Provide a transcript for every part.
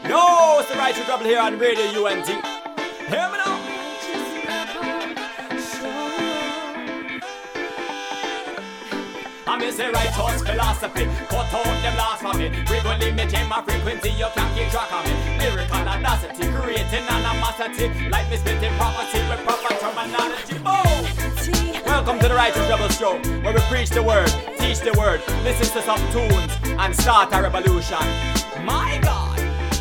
Yo, it's the Righteous Rebel here on Radio UNT. Hear me now. I'm in the righteous philosophy. Cut out them blasphemy. We gon' limit my frequency. You can't keep track of me. Lyrical audacity, creating animosity. Like me splitting property with proper terminology. Oh! Welcome to the Righteous Rebel Show, where we preach the word, teach the word, listen to some tunes, and start a revolution. My God!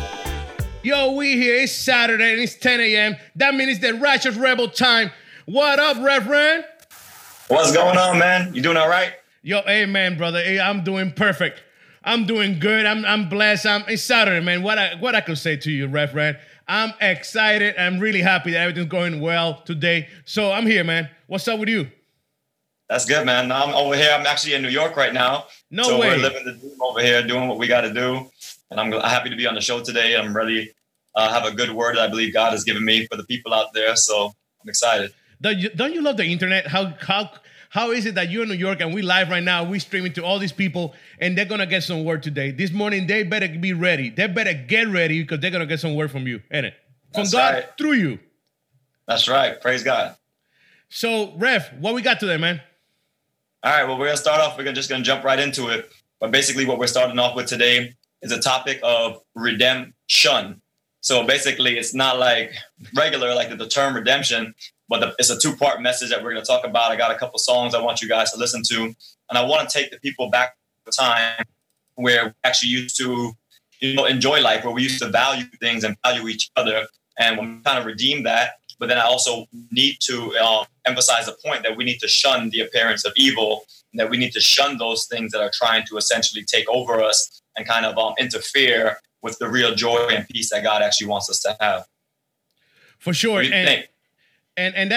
Yo, we here. It's Saturday and it's 10 a.m. That means it's the Righteous Rebel time. What up, Reverend? What's going on, man? You doing all right? Yo, amen, brother. Hey, I'm doing perfect. I'm doing good. I'm blessed. It's Saturday, man. What I could say to you, Reverend? I'm excited. I'm really happy that everything's going well today. So I'm here, man. What's up with you? That's good, man. I'm over here. I'm actually in New York right now. No way. We're living the dream over here, doing what we got to do. And I'm happy to be on the show today. I'm really have a good word that I believe God has given me for the people out there. So I'm excited. Don't you love the internet? How is it that you're in New York and we live right now? We streaming to all these people and they're going to get some word today. This morning, they better be ready. They better get ready because they're going to get some word from you, ain't it? From That's God right. Through you. That's right. Praise God. So, Rev, what we got today, man? All right. Well, we're going to start off. We're just going to jump right into it. But basically what we're starting off with today is a topic of redemption. So basically it's not like regular, like the term redemption, but it's a two-part message that we're going to talk about. I got a couple songs I want you guys to listen to. And I want to take the people back to a time where we actually used to, enjoy life, where we used to value things and value each other. And we kind of redeem that. But then I also need to emphasize the point that we need to shun the appearance of evil, and that we need to shun those things that are trying to essentially take over us and kind of interfere with the real joy and peace that God actually wants us to have. For sure. What do you think? And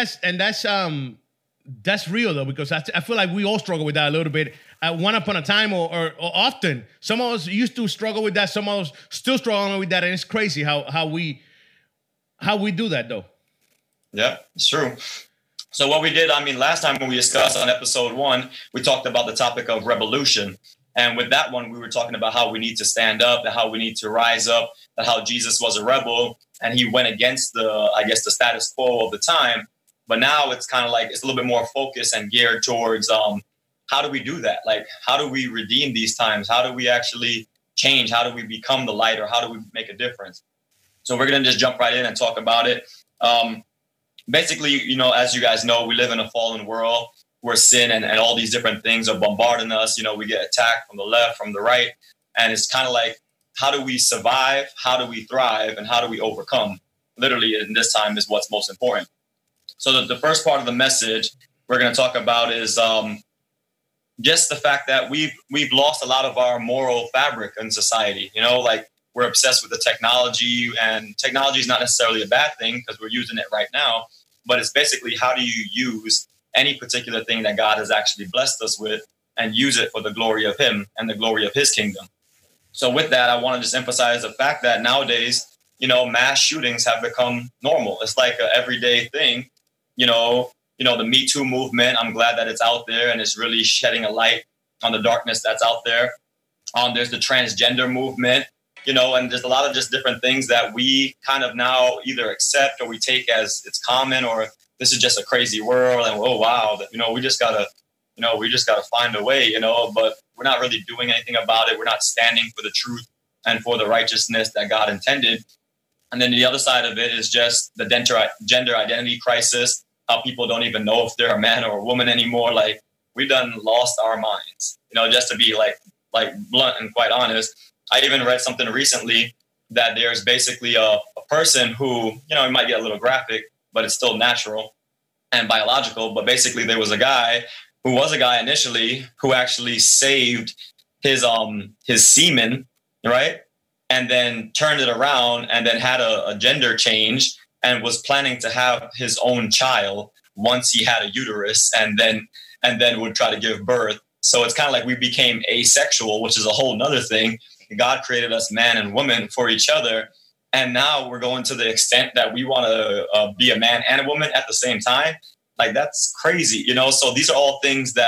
that's real though, because I feel like we all struggle with that a little bit at one upon a time or often. Some of us used to struggle with that. Some of us still struggling with that. And it's crazy how we do that though. Yeah, it's true. So what we did, last time when we discussed on episode 1, we talked about the topic of revolution. And with that one, we were talking about how we need to stand up, and how we need to rise up, and how Jesus was a rebel and he went against the status quo of the time. But now it's kind of like it's a little bit more focused and geared towards how do we do that? Like, how do we redeem these times? How do we actually change? How do we become the light, or how do we make a difference? So we're going to just jump right in and talk about it. Basically, as you guys know, we live in a fallen world where sin and all these different things are bombarding us. We get attacked from the left, from the right. And it's kind of like, how do we survive? How do we thrive? And how do we overcome? Literally, in this time is what's most important. So the first part of the message we're going to talk about is just the fact that we've lost a lot of our moral fabric in society. Like we're obsessed with the technology, and technology is not necessarily a bad thing because we're using it right now. But it's basically, how do you use any particular thing that God has actually blessed us with and use it for the glory of him and the glory of his kingdom. So with that, I want to just emphasize the fact that nowadays, mass shootings have become normal. It's like an everyday thing. The Me Too movement, I'm glad that it's out there and it's really shedding a light on the darkness that's out there. There's the transgender movement, and there's a lot of just different things that we kind of now either accept or we take as it's common, or this is just a crazy world, and oh wow, we just gotta find a way, but we're not really doing anything about it. We're not standing for the truth and for the righteousness that God intended. And then the other side of it is just the gender identity crisis, how people don't even know if they're a man or a woman anymore. Like, we done lost our minds, just to be like blunt and quite honest. I even read something recently that there's basically a person who, it might get a little graphic, but it's still natural and biological. But basically there was a guy initially who actually saved his semen, right? And then turned it around and then had a gender change and was planning to have his own child once he had a uterus, and then would try to give birth. So it's kind of like we became asexual, which is a whole nother thing. God created us man and woman for each other. And now we're going to the extent that we want to be a man and a woman at the same time. Like, that's crazy, So these are all things that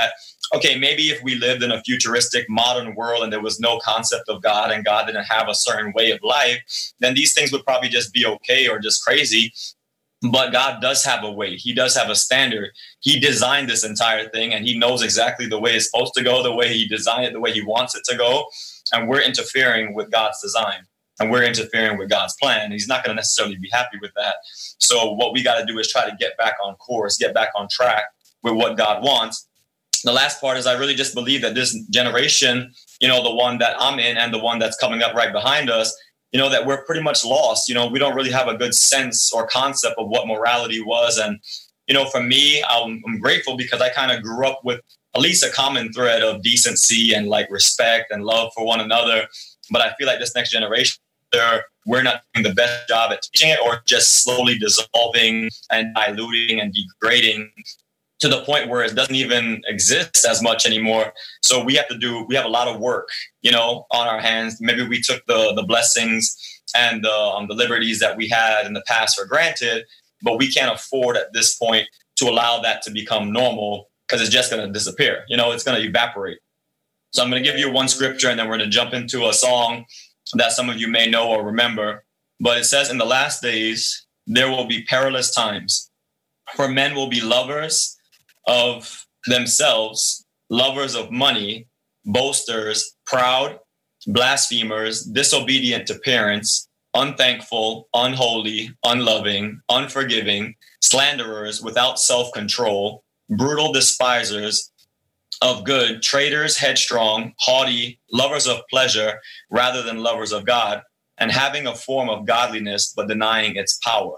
okay, maybe if we lived in a futuristic modern world and there was no concept of God and God didn't have a certain way of life, then these things would probably just be okay or just crazy. But God does have a way. He does have a standard. He designed this entire thing, and he knows exactly the way it's supposed to go, the way he designed it, the way he wants it to go. And we're interfering with God's design, and we're interfering with God's plan. He's not going to necessarily be happy with that. So what we got to do is try to get back on course, get back on track with what God wants. The last part is I really just believe that this generation, the one that I'm in and the one that's coming up right behind us, that we're pretty much lost. We don't really have a good sense or concept of what morality was. And, for me, I'm grateful because I kind of grew up with at least a common thread of decency and like respect and love for one another. But I feel like this next generation, we're not doing the best job at teaching it, or just slowly dissolving and diluting and degrading to the point where it doesn't even exist as much anymore. So we have a lot of work, on our hands. Maybe we took the blessings and the liberties that we had in the past for granted, but we can't afford at this point to allow that to become normal, because it's just going to disappear. It's going to evaporate. So I'm going to give you one scripture, and then we're going to jump into a song that some of you may know or remember. But it says, in the last days, there will be perilous times, for men will be lovers of themselves, lovers of money, boasters, proud, blasphemers, disobedient to parents, unthankful, unholy, unloving, unforgiving, slanderers, without self-control, brutal despisers of good, traitors, headstrong, haughty, lovers of pleasure rather than lovers of God, and having a form of godliness but denying its power.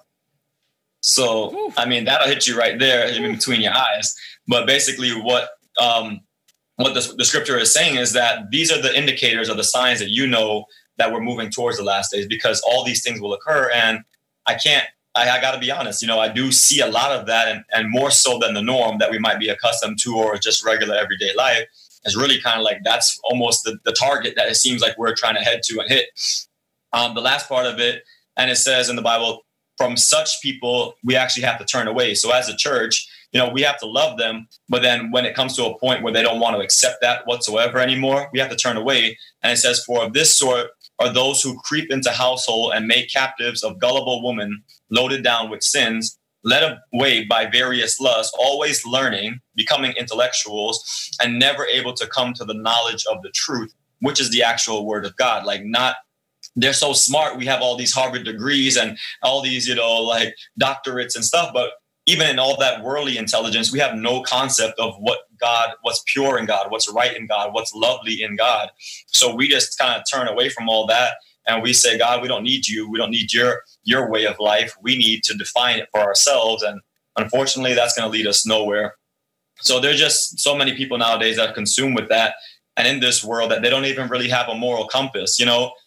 So, that'll hit you right there in between your eyes. But basically what the scripture is saying is that these are the indicators or the signs that that we're moving towards the last days, because all these things will occur. And I got to be honest, I do see a lot of that, and more so than the norm that we might be accustomed to, or just regular everyday life, is really kind of like that's almost the target that it seems like we're trying to head to and hit. The last part of it, and it says in the Bible, from such people, we actually have to turn away. So as a church, we have to love them. But then when it comes to a point where they don't want to accept that whatsoever anymore, we have to turn away. And it says, for of this sort are those who creep into household and make captives of gullible women, loaded down with sins, led away by various lusts, always learning, becoming intellectuals, and never able to come to the knowledge of the truth, which is the actual word of God. They're so smart. We have all these Harvard degrees and all these, doctorates and stuff. But even in all that worldly intelligence, we have no concept of what's pure in God, what's right in God, what's lovely in God. So we just kind of turn away from all that. And we say, God, we don't need you. We don't need your way of life. We need to define it for ourselves. And unfortunately, that's going to lead us nowhere. So there's just so many people nowadays that are consumed with that. And in this world that they don't even really have a moral compass,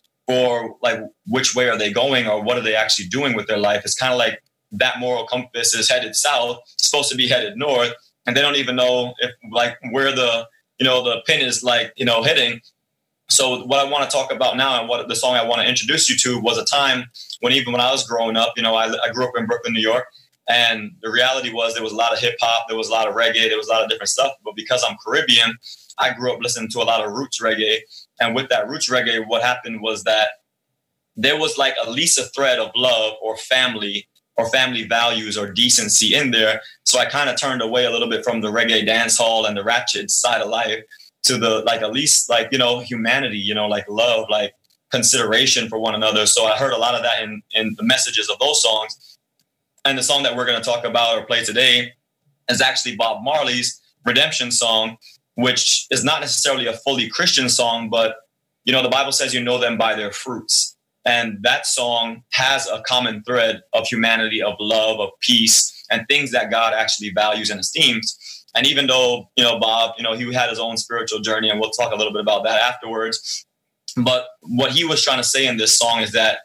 or like which way are they going or what are they actually doing with their life. It's kind of like that moral compass is headed south, supposed to be headed north, and they don't even know if where the pin is hitting. So what I want to talk about now, and what the song I want to introduce you to, was a time when even when I was growing up, I grew up in Brooklyn, New York, and the reality was there was a lot of hip hop, there was a lot of reggae, there was a lot of different stuff. But because I'm Caribbean, I grew up listening to a lot of roots reggae. And with that roots reggae, what happened was that there was at least a thread of love or family values or decency in there. So I kind of turned away a little bit from the reggae dance hall and the ratchet side of life to the at least humanity, love, consideration for one another. So I heard a lot of that in the messages of those songs. And the song that we're going to talk about or play today is actually Bob Marley's Redemption song, which is not necessarily a fully Christian song, but, the Bible says you know them by their fruits. And that song has a common thread of humanity, of love, of peace, and things that God actually values and esteems. And even though, Bob, he had his own spiritual journey, and we'll talk a little bit about that afterwards. But what he was trying to say in this song is that,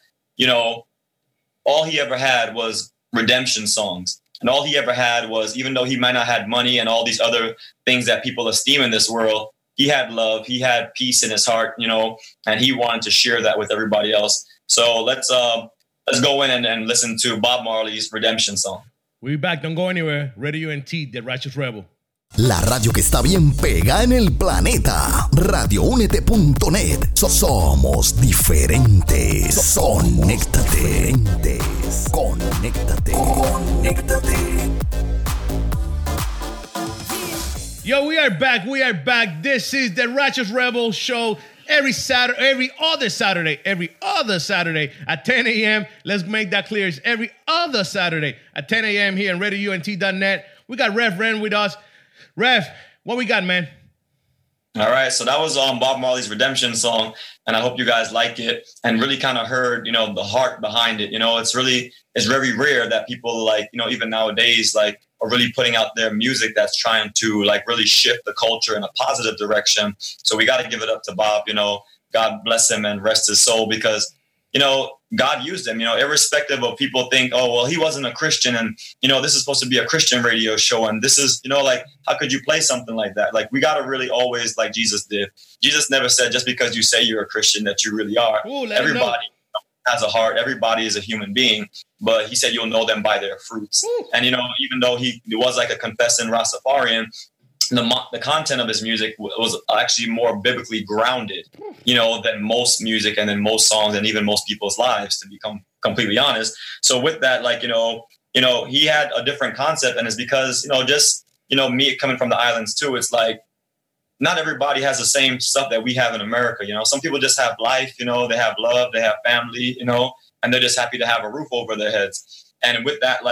all he ever had was redemption songs. And all he ever had was, even though he might not have money and all these other things that people esteem in this world, he had love, he had peace in his heart, and he wanted to share that with everybody else. So let's go in and listen to Bob Marley's Redemption song. We'll be back. Don't go anywhere. Radio UNT, The Righteous Rebel. La radio que está bien pega en el planeta. RadioÚnete.net. Somos diferentes. Conéctate. Conéctate. Yo, we are back. This is the Righteous Rebel Show. Every other Saturday at 10 a.m. Let's make that clear. It's every other Saturday at 10 a.m. here on RadioUNT.net. We got Rev Ren with us. Rev, what we got, man? All right, so that was Bob Marley's Redemption song, and I hope you guys like it and really kind of heard, the heart behind it. It's very rare that people even nowadays are really putting out their music that's trying to really shift the culture in a positive direction. So we got to give it up to Bob. God bless him and rest his soul, because God used him, irrespective of people think, oh, well, he wasn't a Christian, and, this is supposed to be a Christian radio show. And this is, how could you play something like that? We got to really always, like Jesus did. Jesus never said, just because you say you're a Christian, that you really are. Ooh, everybody has a heart. Everybody is a human being, but he said, you'll know them by their fruits. Ooh. And, even though he was a confessing Rastafarian, the content of his music was actually more biblically grounded, than most music and than most songs and even most people's lives, to become completely honest. So with that, he had a different concept, and it's because, me coming from the islands too, it's not everybody has the same stuff that we have in America. Some people just have life, they have love, they have family, and they're just happy to have a roof over their heads. And with that,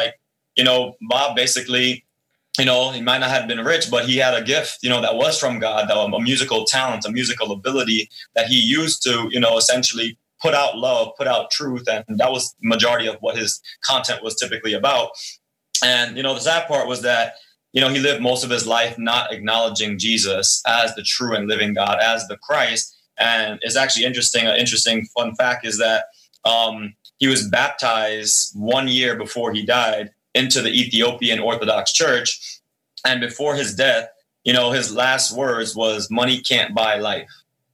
Bob basically, he might not have been rich, but he had a gift, that was from God, a musical talent, a musical ability that he used to, essentially put out love, put out truth. And that was the majority of what his content was typically about. And, the sad part was that, he lived most of his life not acknowledging Jesus as the true and living God, as the Christ. And it's actually interesting. An interesting fun fact is that he was baptized 1 year before he died into the Ethiopian Orthodox Church. And before his death, his last words was, "Money can't buy life."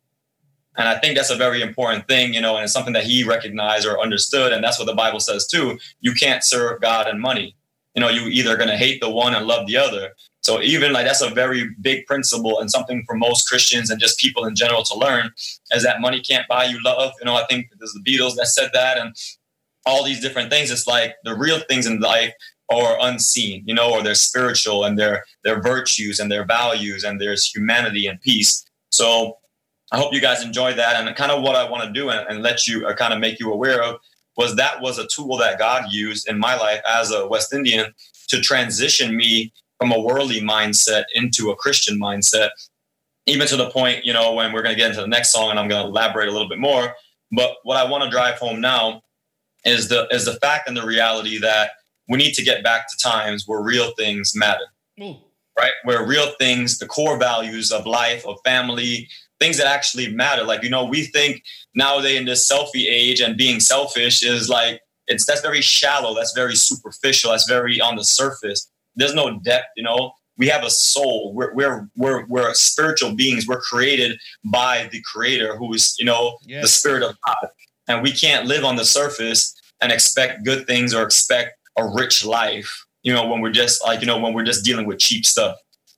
And I think that's a very important thing, and it's something that he recognized or understood. And that's what the Bible says too. You can't serve God and money. You either going to hate the one and love the other. So even that's a very big principle, and something for most Christians and just people in general to learn, is that money can't buy you love. I think there's the Beatles that said that, and all these different things. It's the real things in life are unseen, or they're spiritual, and their virtues and their values, and there's humanity and peace. So I hope you guys enjoy that. And kind of what I want to do and let you kind of make you aware of was a tool that God used in my life as a West Indian to transition me from a worldly mindset into a Christian mindset, even to the point, when we're going to get into the next song, and I'm going to elaborate a little bit more. But what I want to drive home now is the fact and the reality that we need to get back to times where real things matter, right? Where real things, the core values of life, of family, things that actually matter. We think nowadays in this selfie age, and being selfish is that's very shallow. That's very superficial. That's very on the surface. There's no depth, We have a soul. We're spiritual beings. We're created by the Creator, who is, the Spirit of God. And we can't live on the surface and expect good things or expect a rich life, when we're just when we're just dealing with cheap stuff,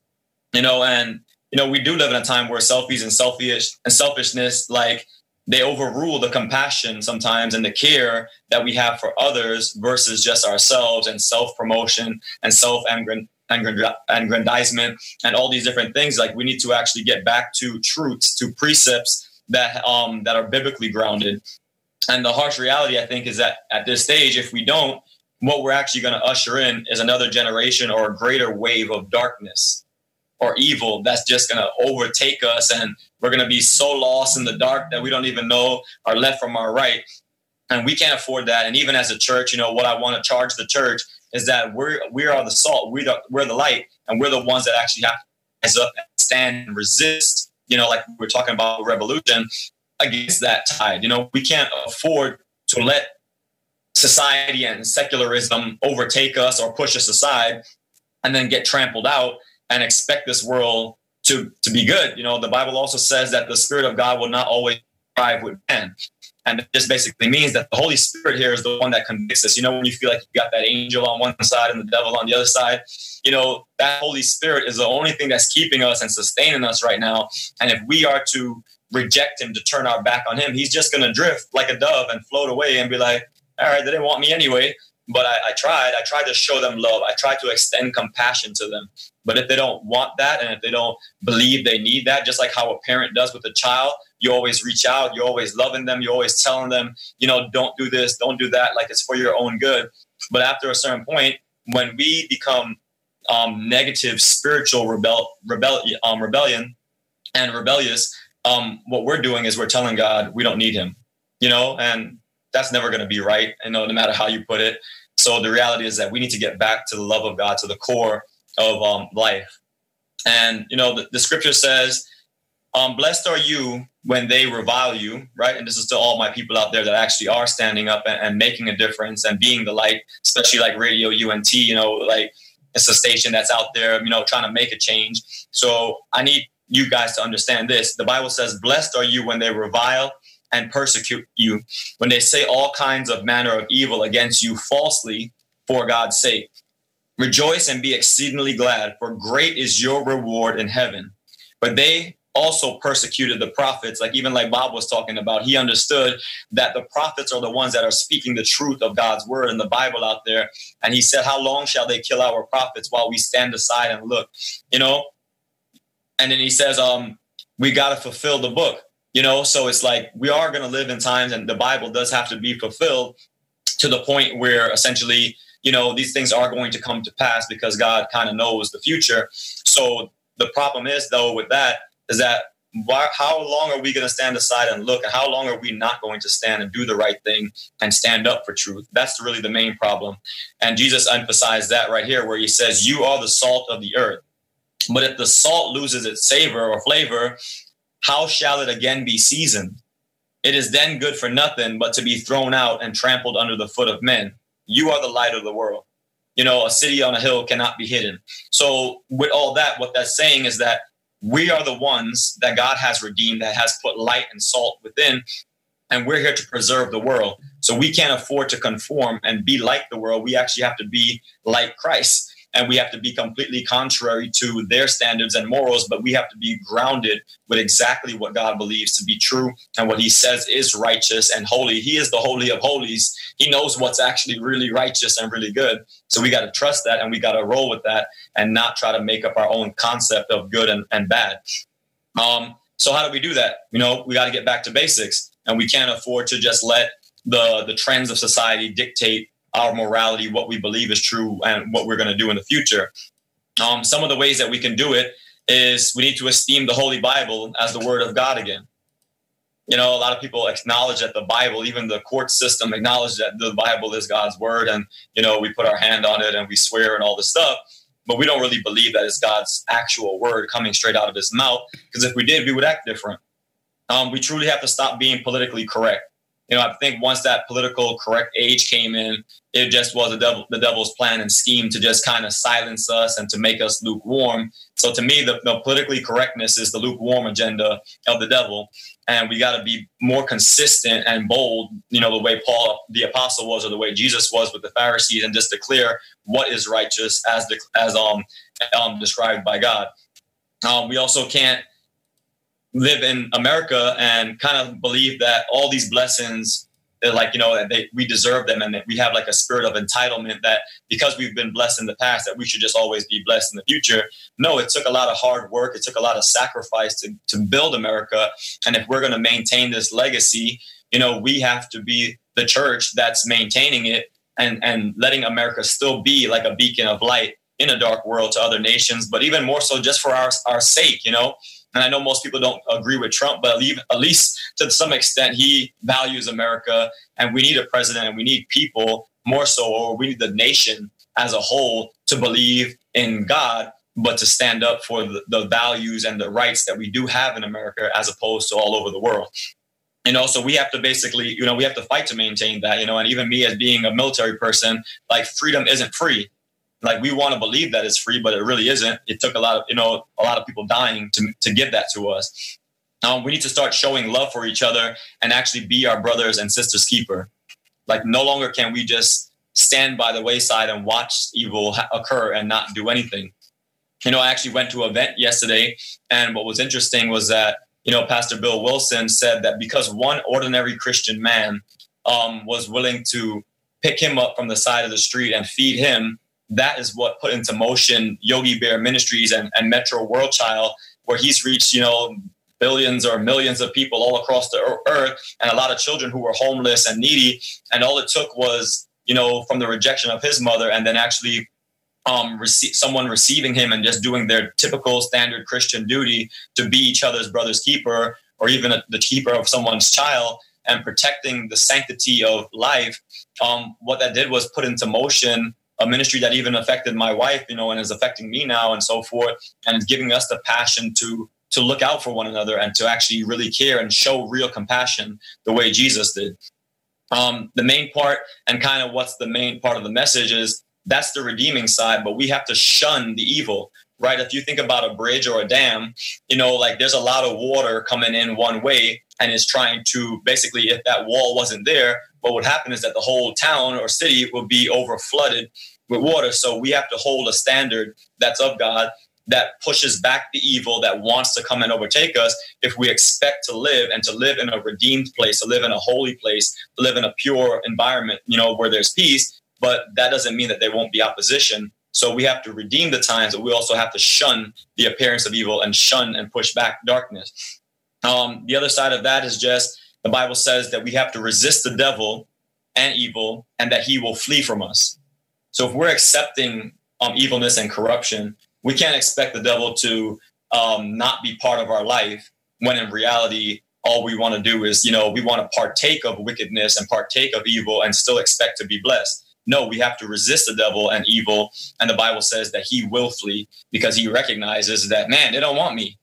and, we do live in a time where selfies and selfishness, they overrule the compassion sometimes and the care that we have for others versus just ourselves, and self-promotion and self-aggrandizement and all these different things. We need to actually get back to truths, to precepts that are biblically grounded. And the harsh reality, I think, is that at this stage, if we don't, what we're actually going to usher in is another generation or a greater wave of darkness or evil that's just going to overtake us. And we're going to be so lost in the dark that we don't even know our left from our right. And we can't afford that. And even as a church, what I want to charge the church is that we are the salt, we're the light, and we're the ones that actually have to rise up and stand and resist, like we're talking about revolution, against that tide. We can't afford to let society and secularism overtake us or push us aside and then get trampled out and expect this world to be good. The Bible also says that the Spirit of God will not always thrive with man. And it just basically means that the Holy Spirit here is the one that convicts us. You know, when you feel like you got that angel on one side and the devil on the other side, you know, that Holy Spirit is the only thing that's keeping us and sustaining us right now. And if we are to reject him, to turn our back on him, he's just going to drift like a dove and float away and be like, all right, they didn't want me anyway. But I tried to show them love. I tried to extend compassion to them. But if they don't want that, and if they don't believe they need that, just like how a parent does with a child, you always reach out, you're always loving them, you're always telling them, you know, don't do this, don't do that, like it's for your own good. But after a certain point, when we become negative spiritual rebellion and rebellious, what we're doing is we're telling God we don't need him, you know, and that's never going to be right, you know, no matter how you put it. So the reality is that we need to get back to the love of God, to the core of life. And, you know, the scripture says, blessed are you when they revile you, right? And this is to all my people out there that actually are standing up and making a difference and being the light, especially like Radio UNT, you know, like it's a station that's out there, you know, trying to make a change. So I need you guys to understand this. The Bible says, blessed are you when they revile and persecute you, when they say all kinds of manner of evil against you falsely for God's sake. Rejoice and be exceedingly glad, for great is your reward in heaven. But they also persecuted the prophets, like Bob was talking about. He understood that the prophets are the ones that are speaking the truth of God's word in the Bible out there. And he said, how long shall they kill our prophets while we stand aside and look, you know? And then he says, we got to fulfill the book. You know, so it's like we are going to live in times, and the Bible does have to be fulfilled to the point where essentially, you know, these things are going to come to pass because God kind of knows the future. So the problem is, though, with that is that how long are we going to stand aside and look? And how long are we not going to stand and do the right thing and stand up for truth? That's really the main problem. And Jesus emphasized that right here, where he says, you are the salt of the earth. But if the salt loses its savor or flavor, how shall it again be seasoned? It is then good for nothing but to be thrown out and trampled under the foot of men. You are the light of the world. You know, a city on a hill cannot be hidden. So with all that, what that's saying is that we are the ones that God has redeemed, that has put light and salt within, and we're here to preserve the world. So we can't afford to conform and be like the world. We actually have to be like Christ. And we have to be completely contrary to their standards and morals, but we have to be grounded with exactly what God believes to be true and what he says is righteous and holy. He is the holy of holies. He knows what's actually really righteous and really good. So we got to trust that, and we got to roll with that and not try to make up our own concept of good and bad. So how do we do that? You know, we got to get back to basics, and we can't afford to just let the trends of society dictate our morality, what we believe is true, and what we're going to do in the future. Some of the ways that we can do it is we need to esteem the Holy Bible as the word of God again. You know, a lot of people acknowledge that the Bible, even the court system, acknowledge that the Bible is God's word. And, you know, we put our hand on it and we swear and all this stuff. But we don't really believe that it's God's actual word coming straight out of his mouth. Because if we did, we would act different. We truly have to stop being politically correct. You know, I think once that political correct age came in, it just was the devil's plan and scheme to just kind of silence us and to make us lukewarm. So to me, the politically correctness is the lukewarm agenda of the devil. And we got to be more consistent and bold, you know, the way Paul, the apostle, was, or the way Jesus was with the Pharisees, and just declare what is righteous as described by God. We also can't live in America and kind of believe that all these blessings, like, you know, we deserve them, and that we have like a spirit of entitlement that because we've been blessed in the past, that we should just always be blessed in the future. No, it took a lot of hard work. It took a lot of sacrifice to build America. And if we're going to maintain this legacy, you know, we have to be the church that's maintaining it and letting America still be like a beacon of light in a dark world to other nations, but even more so just for our sake, you know. And I know most people don't agree with Trump, but at least to some extent, he values America, and we need a president and we need people more so, or we need the nation as a whole to believe in God, but to stand up for the values and the rights that we do have in America as opposed to all over the world. You know, so we have to basically, you know, we have to fight to maintain that, you know, and even me as being a military person, like freedom isn't free. Like we want to believe that it's free, but it really isn't. It took a lot of people dying to give that to us. We need to start showing love for each other and actually be our brothers and sisters' keeper. Like, no longer can we just stand by the wayside and watch evil occur and not do anything. I actually went to an event yesterday, and what was interesting was that, Pastor Bill Wilson said that because one ordinary Christian man was willing to pick him up from the side of the street and feed him, that is what put into motion Yogi Bear Ministries and Metro World Child, where he's reached, billions or millions of people all across the earth, and a lot of children who were homeless and needy. And all it took was, from the rejection of his mother, and then actually someone receiving him and just doing their typical standard Christian duty to be each other's brother's keeper, or even the keeper of someone's child, and protecting the sanctity of life. What that did was put into motion a ministry that even affected my wife, and is affecting me now and so forth, and is giving us the passion to look out for one another and to actually really care and show real compassion the way Jesus did. The main part, and kind of what's the main part of the message, is that's the redeeming side, but we have to shun the evil, right? If you think about a bridge or a dam, there's a lot of water coming in one way and is trying to, basically, if that wall wasn't there, what would happen is that the whole town or city would be over flooded with water. So we have to hold a standard that's of God, that pushes back the evil that wants to come and overtake us, if we expect to live and to live in a redeemed place, to live in a holy place, to live in a pure environment, where there's peace. But that doesn't mean that there won't be opposition. So we have to redeem the times, but we also have to shun the appearance of evil and shun and push back darkness. The other side of that is just, the Bible says that we have to resist the devil and evil, and that he will flee from us. So if we're accepting evilness and corruption, we can't expect the devil to not be part of our life, when in reality, all we want to do is, we want to partake of wickedness and partake of evil and still expect to be blessed. No, we have to resist the devil and evil. And the Bible says that he will flee, because he recognizes that, man, they don't want me.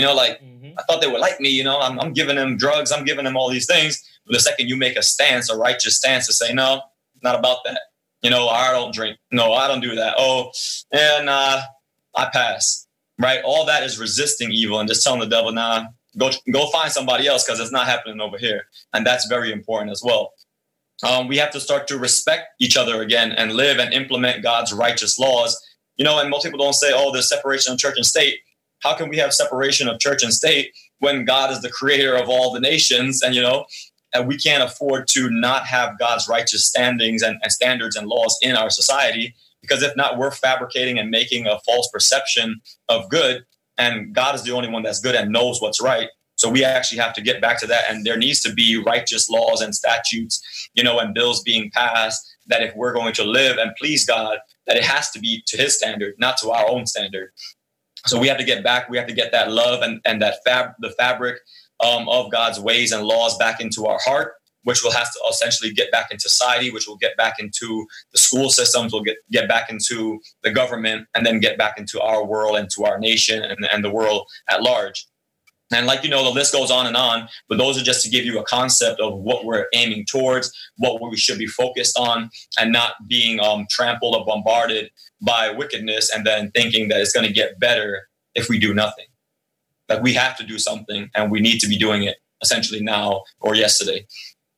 I thought they would like me. I'm giving them drugs. I'm giving them all these things. But the second you make a stance, a righteous stance, to say, no, not about that. I don't drink. No, I don't do that. Oh, and I pass. Right. All that is resisting evil and just telling the devil, nah, go find somebody else, because it's not happening over here. And that's very important as well. We have to start to respect each other again and live and implement God's righteous laws. And most people don't say, oh, there's separation of church and state. How can we have separation of church and state when God is the creator of all the nations? And, and we can't afford to not have God's righteous standings and standards and laws in our society, because if not, we're fabricating and making a false perception of good. And God is the only one that's good and knows what's right. So we actually have to get back to that. And there needs to be righteous laws and statutes, and bills being passed, that if we're going to live and please God, that it has to be to his standard, not to our own standard. So we have to get back. We have to get that love and that the fabric of God's ways and laws back into our heart, which will have to essentially get back into society, which will get back into the school systems, will get back into the government, and then get back into our world and to our nation and the world at large. And the list goes on, but those are just to give you a concept of what we're aiming towards, what we should be focused on, and not being trampled or bombarded by wickedness and then thinking that it's going to get better if we do nothing. Like, we have to do something, and we need to be doing it essentially now or yesterday.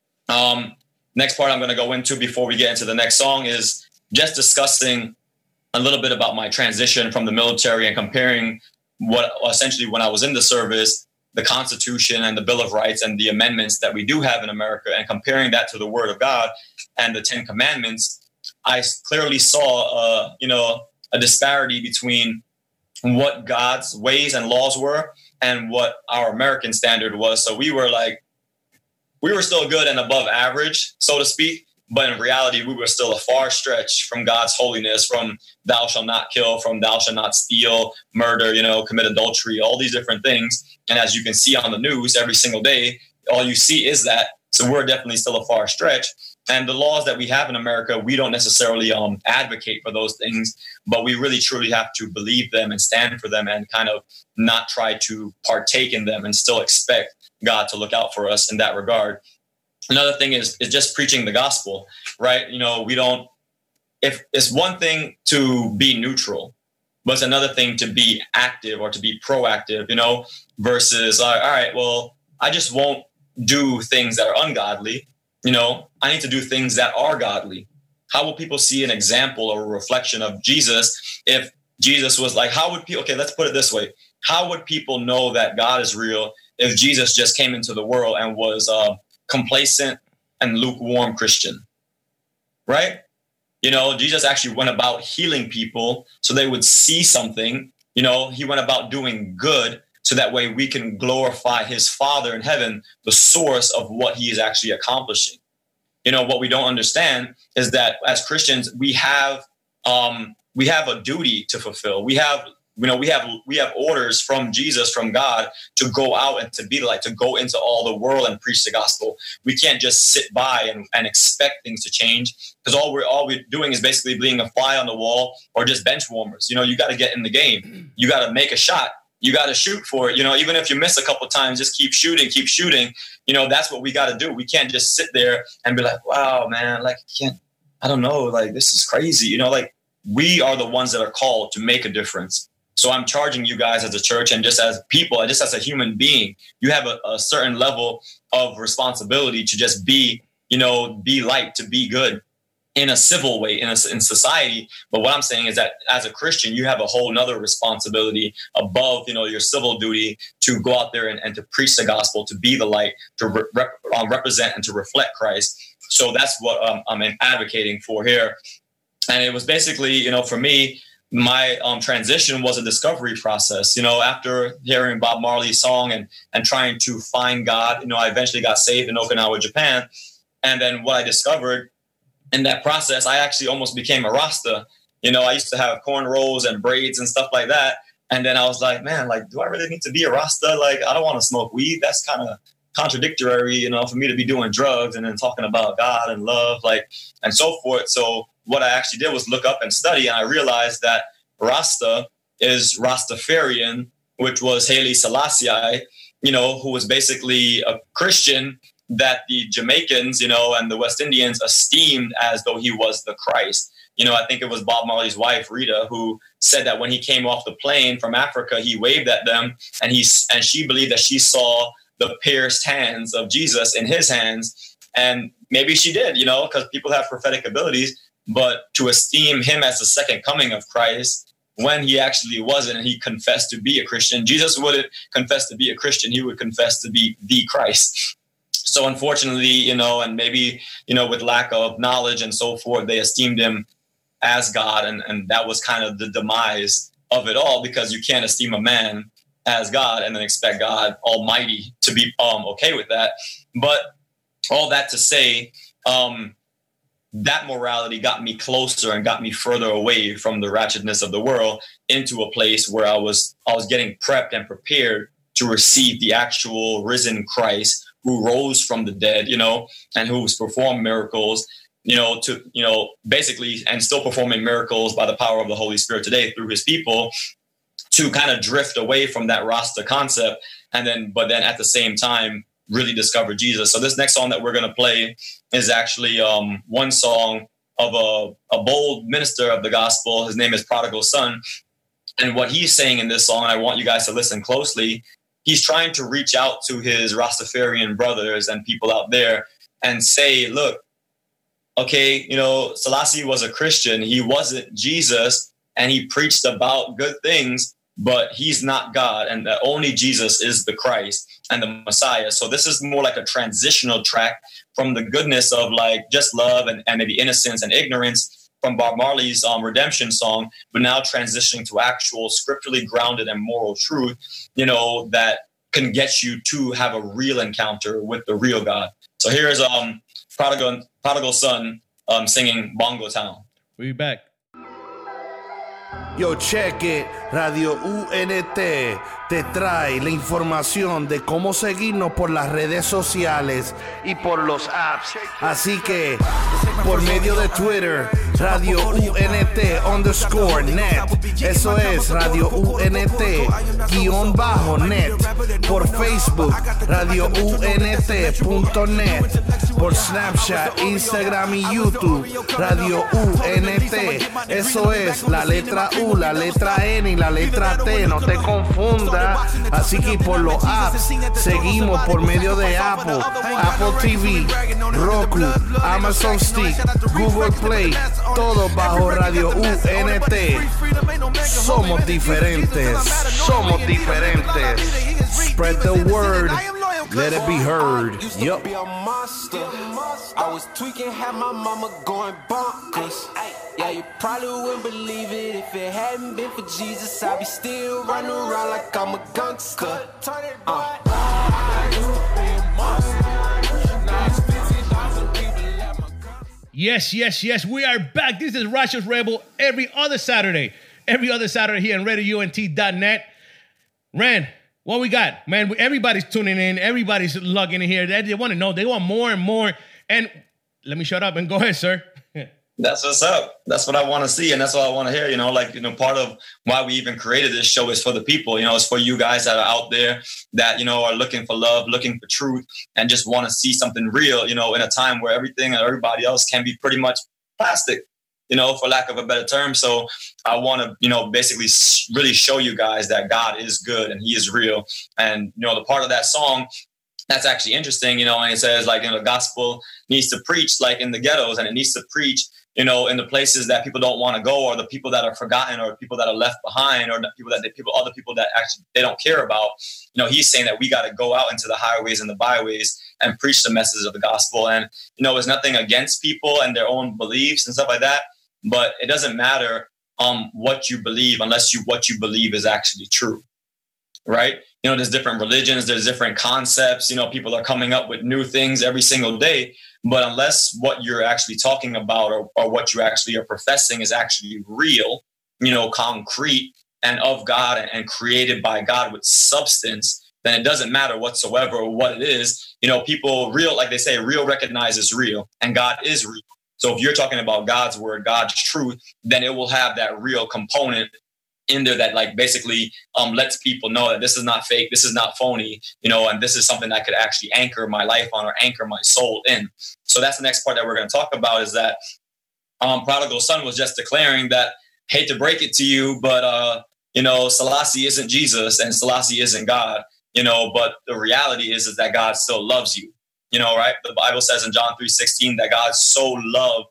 Next part I'm going to go into before we get into the next song is just discussing a little bit about my transition from the military and comparing what essentially, when I was in the service, the Constitution and the Bill of Rights and the amendments that we do have in America, and comparing that to the Word of God and the 10 Commandments. I clearly saw, a disparity between what God's ways and laws were and what our American standard was. So we were still good and above average, so to speak. But in reality, we were still a far stretch from God's holiness, from thou shalt not kill, from thou shalt not steal, murder, commit adultery, all these different things. And as you can see on the news every single day, all you see is that. So we're definitely still a far stretch. And the laws that we have in America, we don't necessarily advocate for those things, but we really truly have to believe them and stand for them and kind of not try to partake in them and still expect God to look out for us in that regard. Another thing is just preaching the gospel, right? If it's one thing to be neutral, But it's another thing to be active or to be proactive, versus, all right, well, I just won't do things that are ungodly. I need to do things that are godly. How will people see an example or a reflection of Jesus if Jesus was like, how would people, okay, let's put it this way. How would people know that God is real if Jesus just came into the world and was a complacent and lukewarm Christian, right? Jesus actually went about healing people so they would see something. He went about doing good so that way we can glorify his Father in heaven, the source of what he is actually accomplishing. What we don't understand is that as Christians, we have a duty to fulfill. We have orders from Jesus, from God, to go out and to be the light, to go into all the world and preach the gospel. We can't just sit by and expect things to change, because all we're doing is basically being a fly on the wall or just bench warmers. You got to get in the game. You got to make a shot. You got to shoot for it. Even if you miss a couple of times, just keep shooting. That's what we got to do. We can't just sit there and be like, wow, man, I don't know, this is crazy. We are the ones that are called to make a difference. So I'm charging you guys as a church and just as people, just as a human being, you have a certain level of responsibility to just be light, to be good in a civil way, in society. But what I'm saying is that as a Christian, you have a whole nother responsibility above, your civil duty to go out there and to preach the gospel, to be the light, to represent and to reflect Christ. So that's what I'm advocating for here. And it was basically, for me, my transition was a discovery process. After hearing Bob Marley's song and trying to find God, I eventually got saved in Okinawa, Japan. And then what I discovered in that process, I actually almost became a Rasta. I used to have cornrows and braids and stuff like that. And then I was like, man, do I really need to be a Rasta? I don't want to smoke weed. That's kind of contradictory, for me to be doing drugs and then talking about God and love, and so forth. So what I actually did was look up and study, and I realized that Rasta is Rastafarian, which was Haile Selassie, who was basically a Christian that the Jamaicans, and the West Indians esteemed as though he was the Christ. I think it was Bob Marley's wife, Rita, who said that when he came off the plane from Africa, he waved at them, and she believed that she saw the pierced hands of Jesus in his hands. And maybe she did, because people have prophetic abilities. But to esteem him as the second coming of Christ, when he actually wasn't, and he confessed to be a Christian, Jesus wouldn't confess to be a Christian. He would confess to be the Christ. So unfortunately, and maybe, with lack of knowledge and so forth, they esteemed him as God. And that was kind of the demise of it all, because you can't esteem a man as God and then expect God Almighty to be okay with that. But all that to say, that morality got me closer and got me further away from the ratchetness of the world into a place where I was getting prepped and prepared to receive the actual risen Christ who rose from the dead, and who's performed miracles, basically, and still performing miracles by the power of the Holy Spirit today through his people, to kind of drift away from that Rasta concept. But then at the same time, really discover Jesus. So this next song that we're going to play is actually one song of a bold minister of the gospel. His name is Prodigal Son. And what he's saying in this song, and I want you guys to listen closely, he's trying to reach out to his Rastafarian brothers and people out there and say, look, okay, Selassie was a Christian. He wasn't Jesus, and he preached about good things, but he's not God, and that only Jesus is the Christ and the Messiah. So this is more like a transitional track from the goodness of just love and maybe innocence and ignorance from Bob Marley's redemption song, but now transitioning to actual scripturally grounded and moral truth, that can get you to have a real encounter with the real God. So here's Prodigal Son singing Bongo Town. We'll be back. Yo, check it, Radio UNT, te trae la información de cómo seguirnos por las redes sociales y por los apps. Así que, por medio de Twitter, Radio UNT_net. Eso es Radio UNT_net. Por Facebook, Radio UNT.net. Por Snapchat, Instagram y YouTube, Radio UNT. Eso es la letra U, la letra N y la letra T. No te confundas. Así que por los apps seguimos por medio de Apple TV, Roku, Amazon Stick, Google Play, todo bajo Radio UNT. Somos diferentes, somos diferentes. Spread the word, let it be heard. Yup. I was tweaking, had my mama going bonkers. Yeah, you probably wouldn't believe it if it hadn't been for Jesus. I'd be still running around like I'm a gangster. Yes, yes, yes. We are back. This is Righteous Rebel every other Saturday here on RadioUNT.net. Ran, what we got? Man, everybody's tuning in. Everybody's logging in here. They want to know. They want more and more. And let me shut up and go ahead, sir. That's what's up. That's what I want to see. And that's what I want to hear. Part of why we even created this show is for the people. It's for you guys that are out there that, are looking for love, looking for truth, and just want to see something real, in a time where everything and everybody else can be pretty much plastic, for lack of a better term. So I want to, basically really show you guys that God is good and he is real. And, the part of that song that's actually interesting, and it says the gospel needs to preach like in the ghettos, and it needs to preach, in the places that people don't want to go, or the people that are forgotten, or people that are left behind, or other people that actually they don't care about. He's saying that we got to go out into the highways and the byways and preach the message of the gospel. And, it's nothing against people and their own beliefs and stuff like that, but it doesn't matter what you believe unless what you believe is actually true. Right? There's different religions, there's different concepts, people are coming up with new things every single day. But unless what you're actually talking about or what you actually are professing is actually real, concrete and of God and created by God with substance, then it doesn't matter whatsoever what it is. People real, like they say, real recognizes real, and God is real. So if you're talking about God's word, God's truth, then it will have that real component in there that basically lets people know that this is not fake, this is not phony, and this is something that could actually anchor my life on or anchor my soul in. So that's the next part that we're going to talk about is that Prodigal Son was just declaring that, hate to break it to you, but, Selassie isn't Jesus and Selassie isn't God, but the reality is that God still loves you, right? The Bible says in John 3:16 that God so loved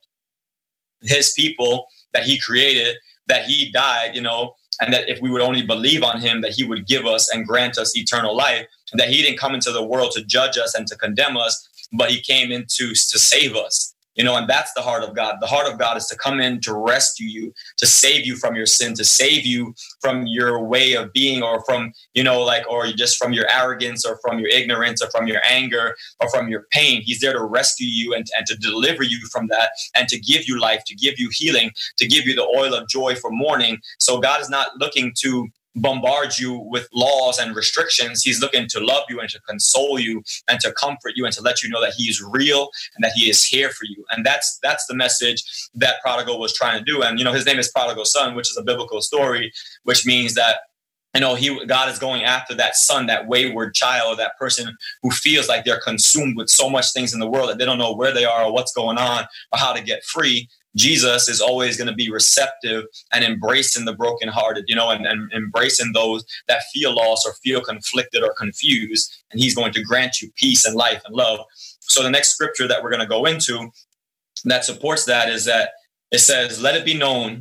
his people that he created, that he died, and that if we would only believe on him, that he would give us and grant us eternal life, and that he didn't come into the world to judge us and to condemn us, but he came in to save us. And that's the heart of God. The heart of God is to come in to rescue you, to save you from your sin, to save you from your way of being, or from, or just from your arrogance, or from your ignorance, or from your anger, or from your pain. He's there to rescue you and to deliver you from that, and to give you life, to give you healing, to give you the oil of joy for mourning. So God is not looking to bombard you with laws and restrictions. He's looking to love you and to console you and to comfort you and to let you know that he is real and that he is here for you. And that's the message that Prodigal was trying to do. And, his name is Prodigal Son, which is a biblical story, which means that, God is going after that son, that wayward child, that person who feels like they're consumed with so much things in the world that they don't know where they are or what's going on or how to get free. Jesus is always going to be receptive and embracing the brokenhearted, and embracing those that feel lost or feel conflicted or confused. And he's going to grant you peace and life and love. So the next scripture that we're going to go into that supports that is that it says, "Let it be known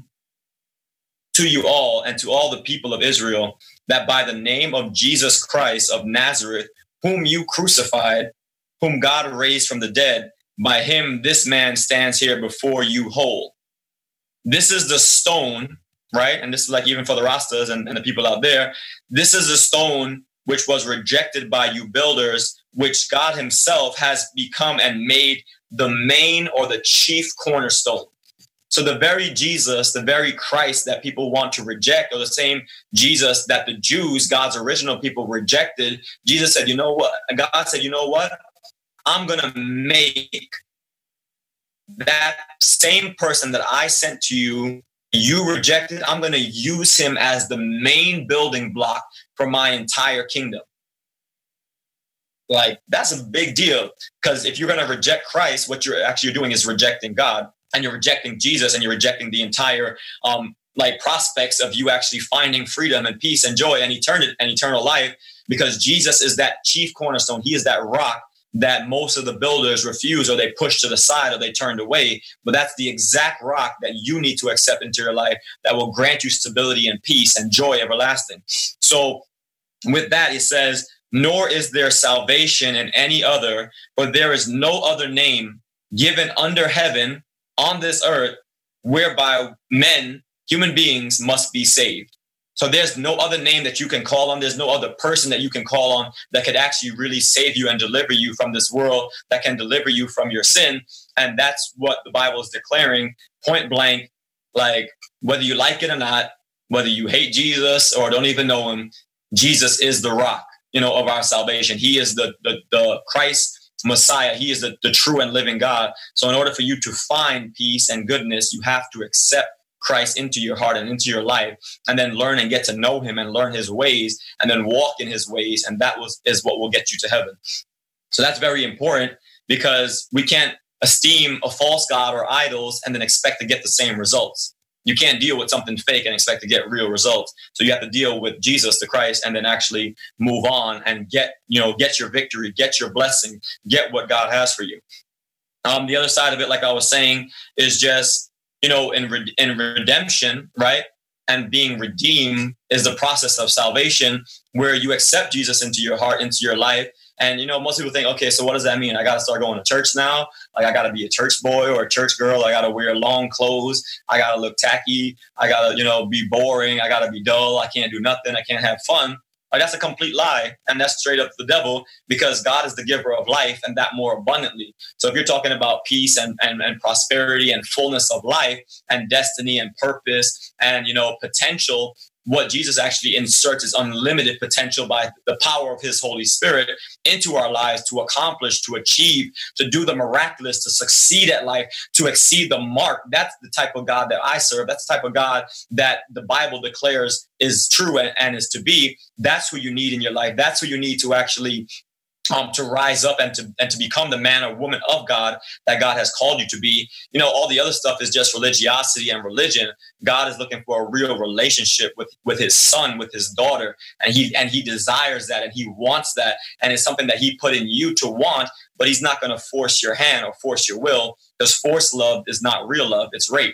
to you all and to all the people of Israel that by the name of Jesus Christ of Nazareth, whom you crucified, whom God raised from the dead, by him, this man stands here before you whole." This is the stone, right? And this is even for the Rastas and the people out there. This is the stone which was rejected by you builders, which God himself has become and made the main or the chief cornerstone. So the very Jesus, the very Christ that people want to reject, or the same Jesus that the Jews, God's original people, rejected, Jesus said, you know what? God said, you know what? I'm going to make that same person that I sent to you, you rejected, I'm going to use him as the main building block for my entire kingdom. Like, that's a big deal, because if you're going to reject Christ, what you're actually doing is rejecting God, and you're rejecting Jesus, and you're rejecting the entire prospects of you actually finding freedom and peace and joy and eternal life, because Jesus is that chief cornerstone. He is that rock that most of the builders refuse, or they push to the side, or they turned away. But that's the exact rock that you need to accept into your life that will grant you stability and peace and joy everlasting. So with that, it says, nor is there salvation in any other, for there is no other name given under heaven on this earth whereby men, human beings, must be saved. So there's no other name that you can call on. There's no other person that you can call on that could actually really save you and deliver you from this world, that can deliver you from your sin. And that's what the Bible is declaring point blank. Like, whether you like it or not, whether you hate Jesus or don't even know him, Jesus is the rock, of our salvation. He is the Christ Messiah. He is the true and living God. So in order for you to find peace and goodness, you have to accept Christ into your heart and into your life, and then learn and get to know him and learn his ways, and then walk in his ways. And that is what will get you to heaven. So that's very important, because we can't esteem a false God or idols and then expect to get the same results. You can't deal with something fake and expect to get real results. So you have to deal with Jesus, the Christ, and then actually move on and get your victory, get your blessing, get what God has for you. The other side of it, like I was saying, is just, in redemption, right? And being redeemed is the process of salvation, where you accept Jesus into your heart, into your life. And, most people think, okay, so what does that mean? I got to start going to church now. Like, I got to be a church boy or a church girl. I got to wear long clothes. I got to look tacky. I got to, be boring. I got to be dull. I can't do nothing. I can't have fun. Like, that's a complete lie. And that's straight up the devil, because God is the giver of life, and that more abundantly. So if you're talking about peace and prosperity and fullness of life and destiny and purpose and, potential, what Jesus actually inserts is unlimited potential by the power of his Holy Spirit into our lives to accomplish, to achieve, to do the miraculous, to succeed at life, to exceed the mark. That's the type of God that I serve. That's the type of God that the Bible declares is true and is to be. That's who you need in your life. That's who you need to actually to rise up and to become the man or woman of God that God has called you to be. All the other stuff is just religiosity and religion. God is looking for a real relationship with his son, with his daughter. And he desires that, and he wants that. And it's something that he put in you to want, but he's not going to force your hand or force your will, because forced love is not real love. It's rape.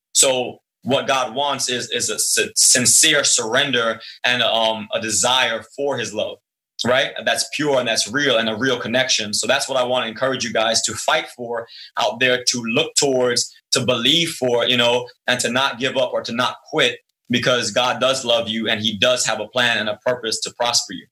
So what God wants is a sincere surrender and a desire for his love. Right? That's pure and that's real, and a real connection. So that's what I want to encourage you guys to fight for out there, to look towards, to believe for, and to not give up or to not quit, because God does love you and he does have a plan and a purpose to prosper you.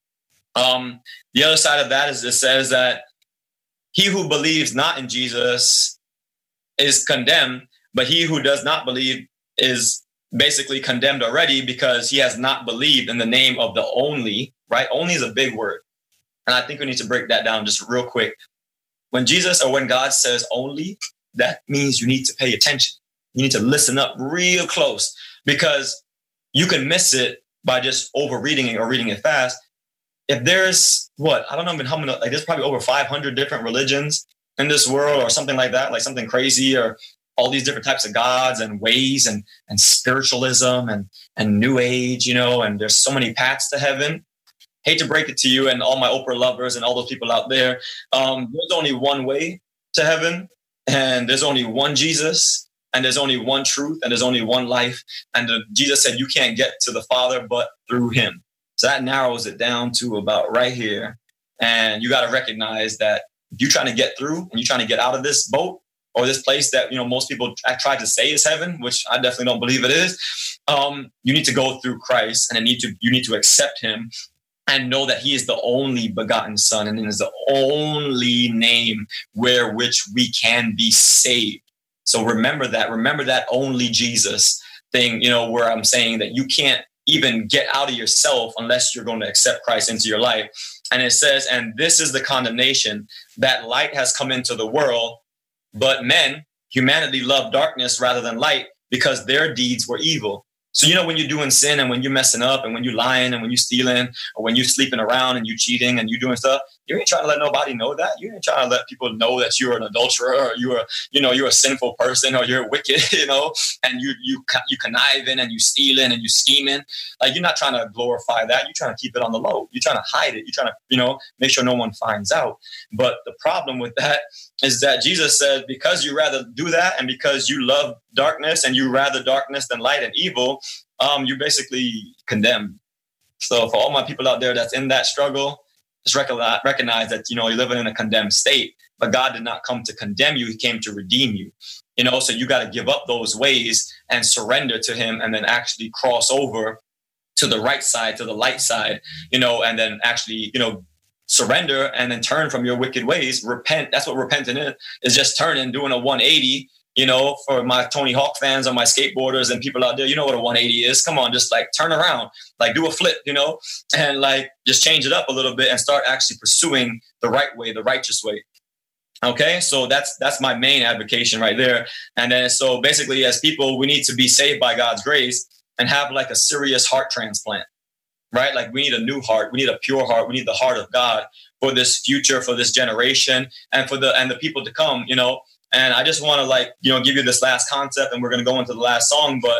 The other side of that is it says that he who believes not in Jesus is condemned, but he who does not believe is basically condemned already, because he has not believed in the name of the only. Right? Only is a big word. And I think we need to break that down just real quick. When God says only, that means you need to pay attention. You need to listen up real close, because you can miss it by just over reading it or reading it fast. If there's I don't know even how many, like there's probably over 500 different religions in this world or something like that, like something crazy, or all these different types of gods and ways and spiritualism and new age, and there's so many paths to heaven. Hate to break it to you and all my Oprah lovers and all those people out there. There's only one way to heaven, and there's only one Jesus, and there's only one truth, and there's only one life. And Jesus said you can't get to the Father but through him. So that narrows it down to about right here. And you got to recognize that if you're trying to get through and you're trying to get out of this boat or this place that, most people try to say is heaven, which I definitely don't believe it is, you need to go through Christ, and you need to accept him. And know that he is the only begotten son, and it is the only name which we can be saved. So remember that only Jesus thing, where I'm saying that you can't even get out of yourself unless you're going to accept Christ into your life. And it says, and this is the condemnation, that light has come into the world, but humanity loved darkness rather than light because their deeds were evil. So, when you're doing sin and when you're messing up and when you're lying and when you're stealing or when you're sleeping around and you're cheating and you're doing stuff, you ain't trying to let nobody know that. You ain't trying to let people know that you're an adulterer or you're a sinful person or you're wicked, and you conniving and you stealing and you scheming. Like, you're not trying to glorify that. You're trying to keep it on the low. You're trying to hide it. You're trying to, make sure no one finds out. But the problem with that is that Jesus said, because you rather do that and because you love darkness and you rather darkness than light and evil, you're basically condemned. So for all my people out there that's in that struggle, just recognize that, you're living in a condemned state, but God did not come to condemn you. He came to redeem you, so you got to give up those ways and surrender to him and then actually cross over to the right side, to the light side, and then actually, surrender and then turn from your wicked ways. Repent. That's what repenting is just turning, doing a 180. For my Tony Hawk fans or my skateboarders and people out there, you know what a 180 is. Come on, just like turn around, like do a flip, and like just change it up a little bit and start actually pursuing the right way, the righteous way. Okay, so that's my main advocation right there. And then so basically, as people, we need to be saved by God's grace and have like a serious heart transplant, right? Like we need a new heart, we need a pure heart, we need the heart of God for this future, for this generation, and for the people to come, And I just want to give you this last concept, and we're going to go into the last song. But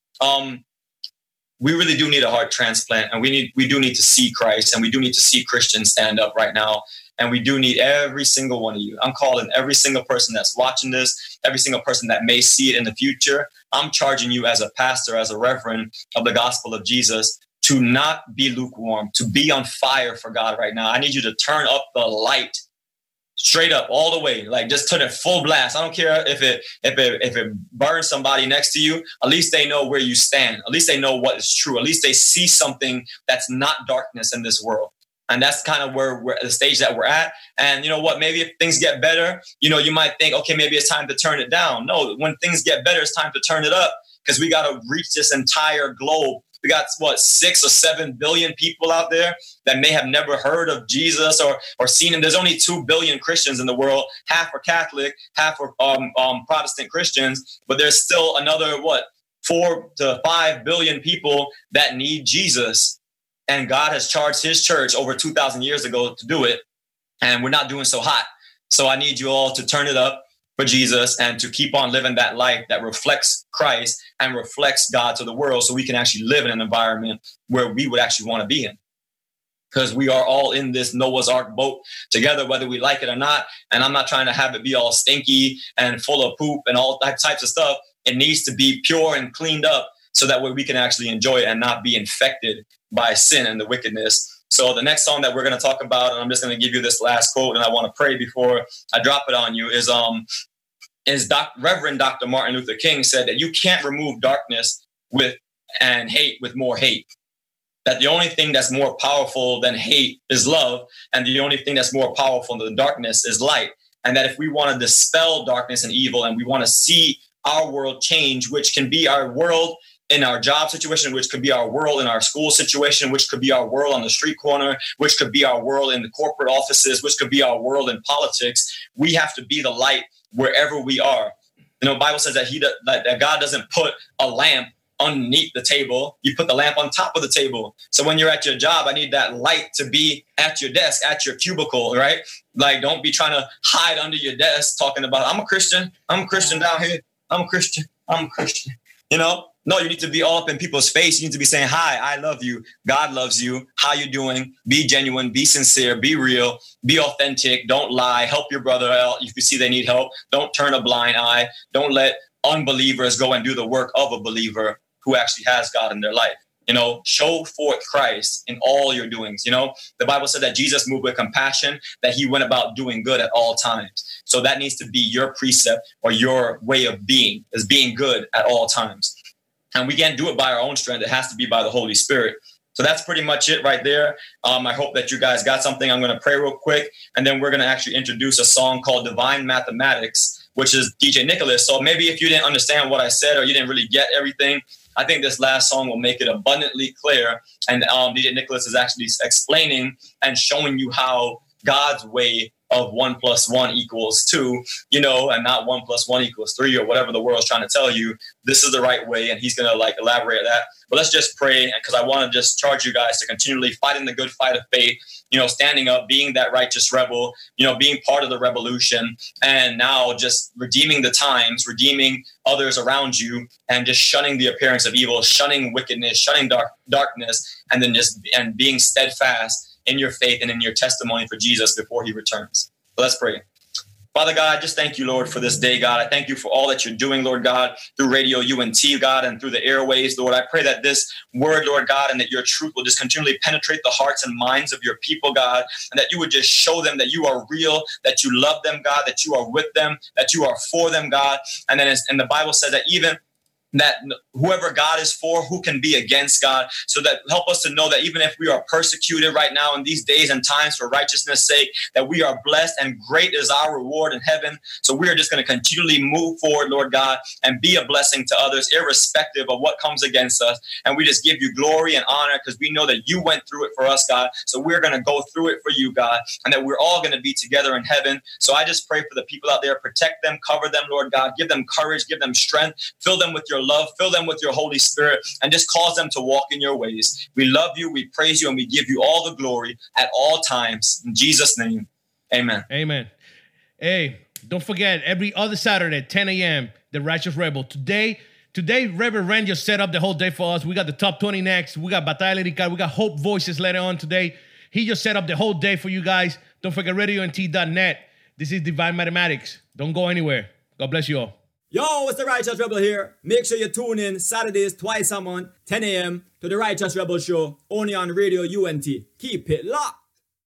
we really do need a heart transplant, and we do need to see Christ, and we do need to see Christians stand up right now. And we do need every single one of you. I'm calling every single person that's watching this, every single person that may see it in the future. I'm charging you as a pastor, as a reverend of the gospel of Jesus, to not be lukewarm, to be on fire for God right now. I need you to turn up the light. Straight up, all the way, like just turn it full blast. I don't care if it burns somebody next to you. At least they know where you stand. At least they know what is true. At least they see something that's not darkness in this world. And that's kind of where we're at, the stage that we're at. And you know what? Maybe if things get better, you might think, okay, maybe it's time to turn it down. No, when things get better, it's time to turn it up because we got to reach this entire globe. We got 6 or 7 billion people out there that may have never heard of Jesus or seen him. There's only 2 billion Christians in the world. Half are Catholic, half are Protestant Christians. But there's still another 4 to 5 billion people that need Jesus. And God has charged his church over 2,000 years ago to do it. And we're not doing so hot. So I need you all to turn it up for Jesus and to keep on living that life that reflects Christ and reflects God to the world so we can actually live in an environment where we would actually want to be in. Because we are all in this Noah's Ark boat together, whether we like it or not. And I'm not trying to have it be all stinky and full of poop and all types of stuff. It needs to be pure and cleaned up so that way we can actually enjoy it and not be infected by sin and the wickedness. So the next song that we're going to talk about, and I'm just going to give you this last quote, and I want to pray before I drop it on you, is Reverend Dr. Martin Luther King said that you can't remove darkness and hate with more hate. That the only thing that's more powerful than hate is love, and the only thing that's more powerful than darkness is light. And that if we want to dispel darkness and evil, and we want to see our world change, which can be our world in our job situation, which could be our world in our school situation, which could be our world on the street corner, which could be our world in the corporate offices, which could be our world in politics. We have to be the light wherever we are. The Bible says that God doesn't put a lamp underneath the table. You put the lamp on top of the table. So when you're at your job, I need that light to be at your desk, at your cubicle, right? Like, don't be trying to hide under your desk talking about, I'm a Christian down here. I'm a Christian. No, you need to be all up in people's face. You need to be saying, hi, I love you. God loves you. How you doing? Be genuine, be sincere, be real, be authentic. Don't lie. Help your brother out if you see they need help. Don't turn a blind eye. Don't let unbelievers go and do the work of a believer who actually has God in their life. Show forth Christ in all your doings. The Bible said that Jesus moved with compassion, that he went about doing good at all times. So that needs to be your precept or your way of being, is being good at all times. And we can't do it by our own strength. It has to be by the Holy Spirit. So that's pretty much it right there. I hope that you guys got something. I'm going to pray real quick, and then we're going to actually introduce a song called Divine Mathematics which is DJ Nicholas. So maybe if you didn't understand what I said or you didn't really get everything, I think this last song will make it abundantly clear. And DJ Nicholas is actually explaining and showing you how God's way of 1 + 1 = 2, you know, and not 1 + 1 = 3 or whatever the world's trying to tell you. This is the right way, and he's going to like elaborate that. But let's just pray, because I want to just charge you guys to continually fighting the good fight of faith, you know, standing up, being that righteous rebel, you know, being part of the revolution, and now just redeeming the times, redeeming others around you, and just shunning the appearance of evil, shunning wickedness, shunning darkness, and then just and being steadfast in your faith and in your testimony for Jesus before he returns. So let's pray. Father God, I just thank you, Lord, for this day, God. I thank you for all that you're doing, Lord God, through Radio UNT, God, and through the airways, Lord. I pray that this word, Lord God, and that your truth will just continually penetrate the hearts and minds of your people, God, and that you would just show them that you are real, that you love them, God, that you are with them, that you are for them, God. And then and the Bible says that even that whoever God is for, who can be against God? So that help us to know that even if we are persecuted right now in these days and times for righteousness' sake, that we are blessed and great is our reward in heaven. So we are just going to continually move forward, Lord God, and be a blessing to others, irrespective of what comes against us. And we just give you glory and honor because we know that you went through it for us, God. So we're going to go through it for you, God, and that we're all going to be together in heaven. So I just pray for the people out there, protect them, cover them, Lord God, give them courage, give them strength, fill them with your love, fill them with your Holy Spirit, and just cause them to walk in your ways. We love you, we praise you, and we give you all the glory at all times. In Jesus' name, amen. Amen. Hey, don't forget, every other Saturday, 10 a.m., The Righteous Rebel. Today, Reverend Ren just set up the whole day for us. We got the top 20 next. We got Batalla Lyrical. We got Hope Voices later on today. He just set up the whole day for you guys. Don't forget, RadioUNT.net. This is Divine Mathematics. Don't go anywhere. God bless you all. Yo, it's the Righteous Rebel here. Make sure you tune in Saturdays twice a month, 10 a.m. to the Righteous Rebel Show, only on Radio UNT. Keep it locked.